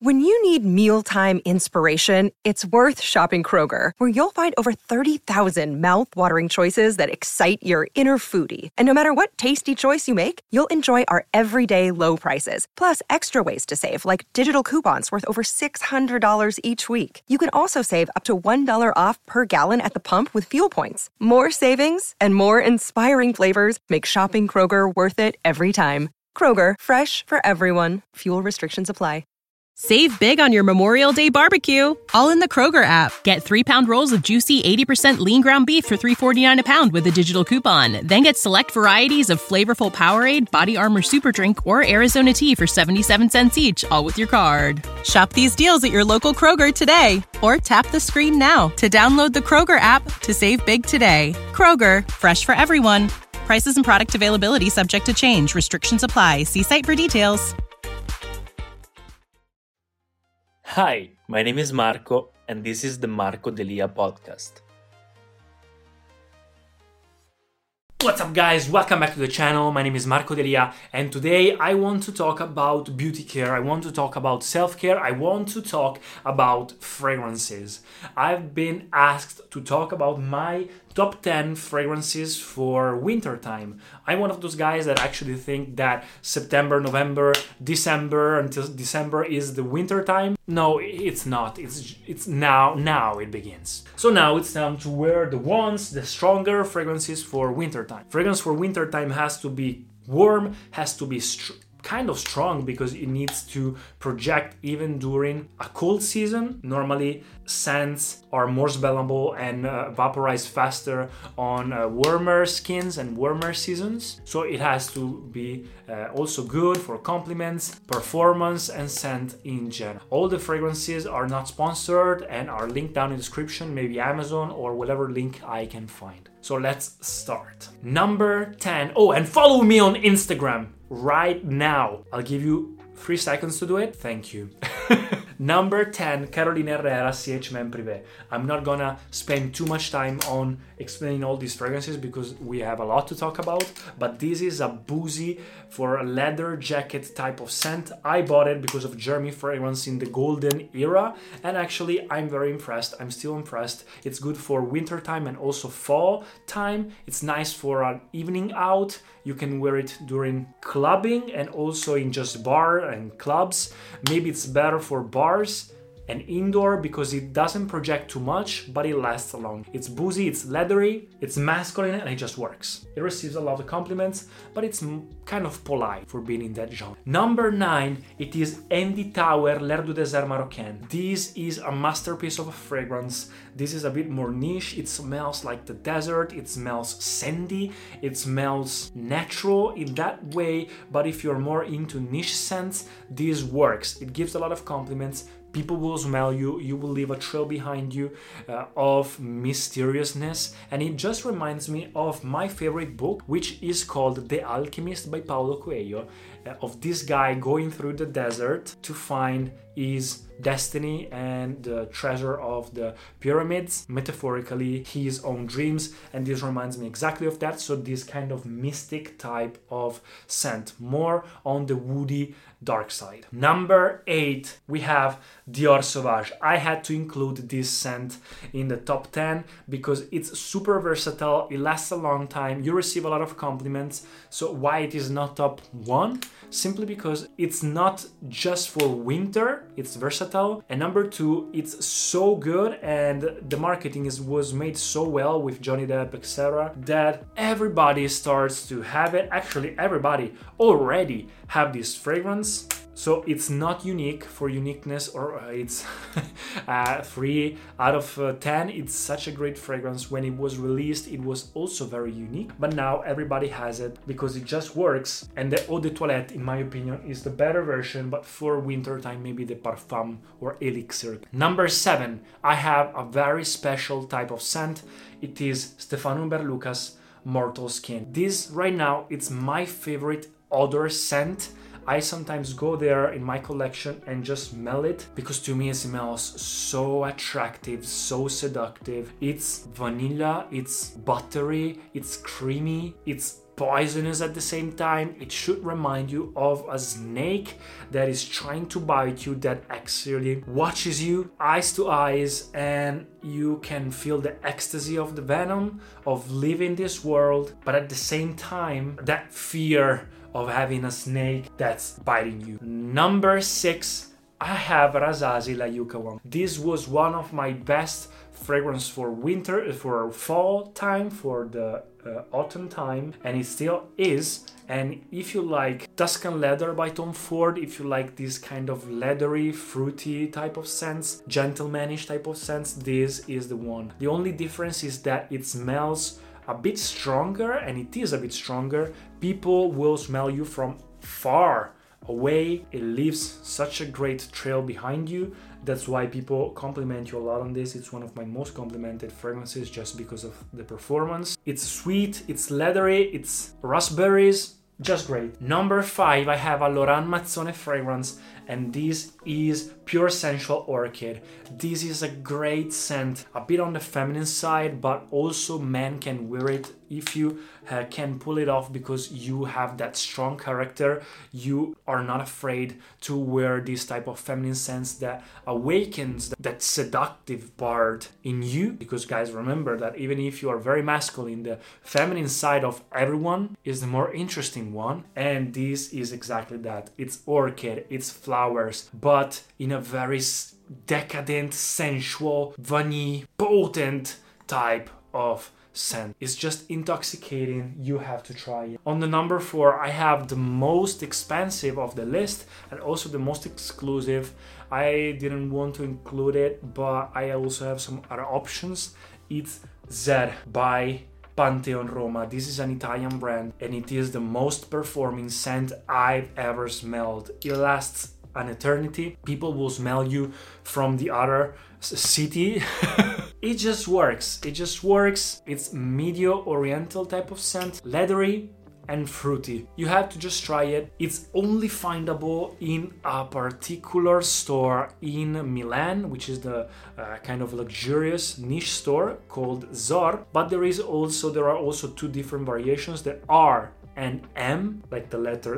When you need mealtime inspiration, it's worth shopping Kroger, where you'll find over 30,000 mouth-watering choices that excite your inner foodie. And no matter what tasty choice you make, you'll enjoy our everyday low prices, plus extra ways to save, like digital coupons worth over $600 each week. You can also save up to $1 off per gallon at the pump with fuel points. More savings and more inspiring flavors make shopping Kroger worth it every time. Kroger, fresh for everyone. Fuel restrictions apply. Save big on your Memorial Day barbecue, all in the Kroger app. Get 3-pound rolls of juicy 80% lean ground beef for $3.49 a pound with a digital coupon. Then get select varieties of flavorful Powerade, Body Armor Super Drink, or Arizona tea for 77 cents each, all with your card. Shop these deals at your local Kroger today, or tap the screen now to download the Kroger app to save big today. Kroger, fresh for everyone. Prices and product availability subject to change. Restrictions apply. See site for details. Hi, my name is Marco, and this is the Marco Delia podcast. What's up, guys? Welcome back to the channel. My name is Marco Delia, and today I want to talk about beauty care. I want to talk about self-care. I want to talk about fragrances. I've been asked to talk about my top 10 fragrances for winter time. I'm one of those guys that actually think that September, November, December until December is the winter time. No, it's not. It's now it begins. So now it's time to wear the stronger fragrances for winter time. Fragrance for winter time has to be warm, has to be kind of strong because it needs to project even during a cold season. Normally, scents are more smellable and vaporize faster on warmer skins and warmer seasons. So it has to be also good for compliments, performance, and scent in general. All the fragrances are not sponsored and are linked down in the description, maybe Amazon or whatever link I can find. So let's start. Number 10. Oh, and follow me on Instagram right now. I'll give you 3 seconds to do it. Thank you. Number 10, Carolina Herrera CH Men Privé. I'm not gonna spend too much time on explaining all these fragrances because we have a lot to talk about, but this is a boozy for a leather jacket type of scent. I bought it because of Jeremy fragrance in the golden era, and actually I'm very impressed. I'm still impressed. It's good for winter time and also fall time. It's nice for an evening out. You can wear it during clubbing and also in just bar and clubs. Maybe it's better for bars and indoor because it doesn't project too much, but it lasts long. It's boozy, it's leathery, it's masculine, and it just works. It receives a lot of compliments, but it's kind of polite for being in that genre. Number 9, it is Andy Tauer L'air du désert marocain. This is a masterpiece of a fragrance. This is a bit more niche. It smells like the desert, it smells sandy, it smells natural in that way, but if you're more into niche scents, this works. It gives a lot of compliments. People will smell you, you will leave a trail behind you of mysteriousness. And it just reminds me of my favorite book, which is called The Alchemist by Paulo Coelho, of this guy going through the desert to find his destiny and the treasure of the pyramids, metaphorically his own dreams, and this reminds me exactly of that. So this kind of mystic type of scent, more on the woody dark side. Number 8, we have Dior Sauvage. I had to include this scent in the top 10 because it's super versatile, it lasts a long time, you receive a lot of compliments. So why it is not top 1? Simply because it's not just for winter, it's versatile, and number 2, it's so good and the marketing was made so well with Johnny Depp, etc., that everybody starts to have it. Actually, everybody already have this fragrance. So it's not unique for uniqueness, or it's 3 out of 10. It's such a great fragrance. When it was released, it was also very unique, but now everybody has it because it just works. And the Eau de Toilette, in my opinion, is the better version, but for winter time, maybe the Parfum or Elixir. Number 7, I have a very special type of scent. It is Stefano Humber Lucas Mortal Skin. This right now, it's my favorite odor scent. I sometimes go there in my collection and just smell it because to me it smells so attractive, so seductive. It's vanilla, it's buttery, it's creamy, it's poisonous at the same time. It should remind you of a snake that is trying to bite you, that actually watches you eyes to eyes, and you can feel the ecstasy of the venom of living this world, but at the same time that fear of having a snake that's biting you. Number 6, I have Razazi La Yucca one. This was one of my best fragrance for winter, for fall time, for the autumn time, and it still is. And if you like Tuscan Leather by Tom Ford, if you like this kind of leathery, fruity type of scents, gentlemanish type of scents, this is the one. The only difference is that it smells a bit stronger, and it is a bit stronger. People will smell you from far away. It leaves such a great trail behind you. That's why people compliment you a lot on this. It's one of my most complimented fragrances just because of the performance. It's sweet, it's leathery, it's raspberries, just great. Number 5, I have a Laurent Mazzone fragrance, and this is Pure Sensual Orchid. This is a great scent, a bit on the feminine side, but also men can wear it if you can pull it off because you have that strong character. You are not afraid to wear this type of feminine scents that awakens that seductive part in you. Because guys, remember that even if you are very masculine, the feminine side of everyone is the more interesting one, and this is exactly that. It's orchid, it's flowers, but in a very decadent, sensual, vanilla, potent type of scent. It's just intoxicating. You have to try it. On the number 4, I have the most expensive of the list and also the most exclusive. I didn't want to include it, but I also have some other options. It's Zer by Pantheon Roma. This is an Italian brand, and it is the most performing scent I've ever smelled. It lasts an eternity. People will smell you from the other city. It just works. It just works. It's medio oriental type of scent, leathery and fruity. You have to just try it. It's only findable in a particular store in Milan, which is the kind of luxurious niche store called Zor. But there are also 2 different variations, the R and M, like the letter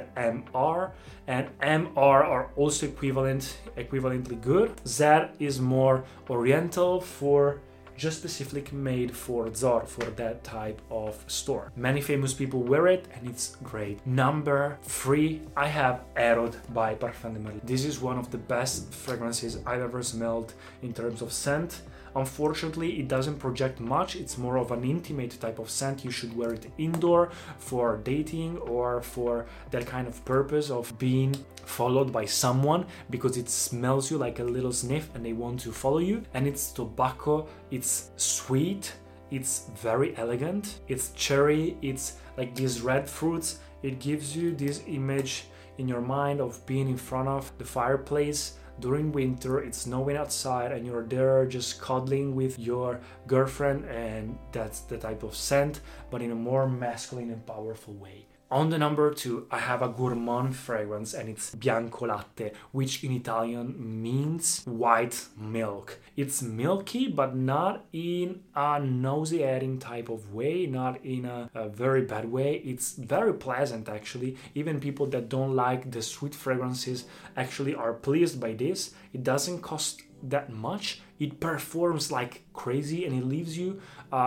ZMR, and MR are also equivalently good. Z is more oriental, for just specifically made for Zor, for that type of store. Many famous people wear it and it's great. Number 3, I have Erod by Parfum de Marly. This is one of the best fragrances I've ever smelled in terms of scent. Unfortunately, it doesn't project much. It's more of an intimate type of scent. You should wear it indoor for dating or for that kind of purpose of being followed by someone, because it smells you like a little sniff and they want to follow you. And it's tobacco, it's sweet, it's very elegant, it's cherry, it's like these red fruits. It gives you this image in your mind of being in front of the fireplace during winter. It's snowing outside and you're there just cuddling with your girlfriend, and that's the type of scent, but in a more masculine and powerful way. On the number 2, I have a gourmand fragrance, and it's Bianco Latte, which in Italian means white milk. It's milky, but not in a nauseating type of way, not in a very bad way. It's very pleasant, actually. Even people that don't like the sweet fragrances actually are pleased by this. It doesn't cost that much. It performs like crazy, and it leaves you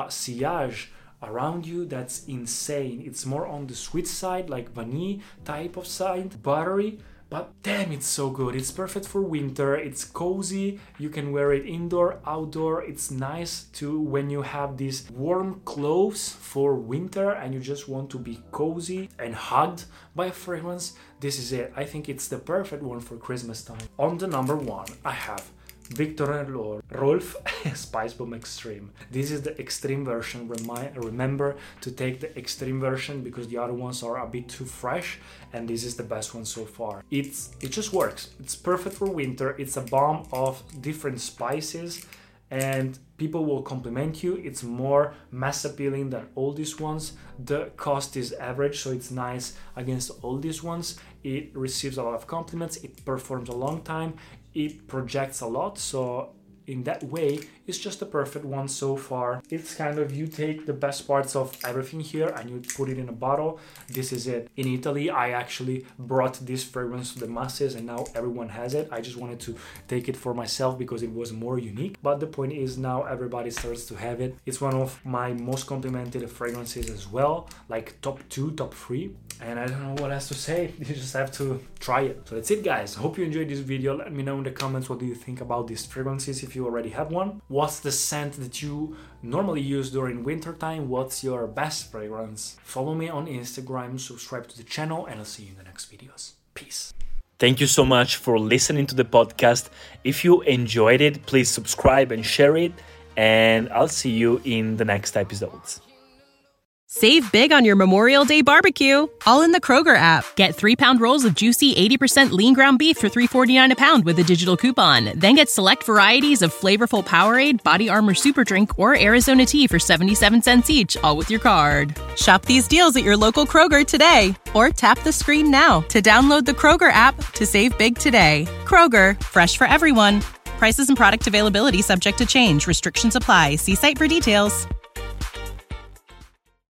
sillage around you that's insane. It's more on the sweet side, like vanilla type of side, buttery, but damn, it's so good. It's perfect for winter. It's cozy. You can wear it indoor, outdoor. It's nice to when you have these warm clothes for winter and you just want to be cozy and hugged by a fragrance. This is it. I think it's the perfect one for Christmas time. On the number 1, I have Viktor and Rolf Spice Bomb Extreme. This is the extreme version. Remember to take the extreme version because the other ones are a bit too fresh, and this is the best one so far. It just works. It's perfect for winter. It's a bomb of different spices, and people will compliment you. It's more mass appealing than all these ones. The cost is average, so it's nice against all these ones. It receives a lot of compliments. It performs a long time. It projects a lot, so in that way is just the perfect one so far. It's kind of, you take the best parts of everything here and you put it in a bottle. This is it. In Italy, I actually brought this fragrance to the masses and now everyone has it. I just wanted to take it for myself because it was more unique. But the point is now everybody starts to have it. It's one of my most complimented fragrances as well, like top 2, top 3. And I don't know what else to say. You just have to try it. So that's it, guys. Hope you enjoyed this video. Let me know in the comments what do you think about these fragrances if you already have one. What's the scent that you normally use during winter time? What's your best fragrance? Follow me on Instagram, subscribe to the channel, and I'll see you in the next videos. Peace. Thank you so much for listening to the podcast. If you enjoyed it, please subscribe and share it. And I'll see you in the next episodes. Save big on your Memorial Day barbecue, all in the Kroger app. Get 3-pound rolls of juicy 80% lean ground beef for $3.49 a pound with a digital coupon. Then get select varieties of flavorful Powerade, Body Armor Super Drink, or Arizona tea for 77 cents each, all with your card. Shop these deals at your local Kroger today, or tap the screen now to download the Kroger app to save big today. Kroger, fresh for everyone. Prices and product availability subject to change. Restrictions apply. See site for details.